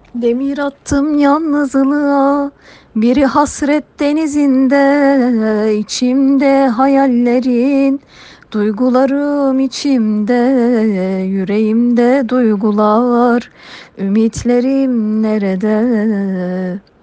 Demir attım yalnızlığa, biri hasret denizinde, içimde hayallerin, duygularım içimde, yüreğimde duygular, ümitlerim nerede?